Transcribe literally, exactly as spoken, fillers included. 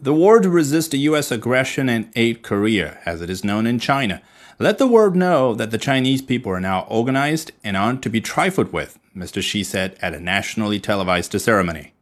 The war to resist the U S aggression and aid Korea, as it is known in China. Let the world know that the Chinese people are now organized and aren't to be trifled with, Mister Xi said at a nationally televised ceremony.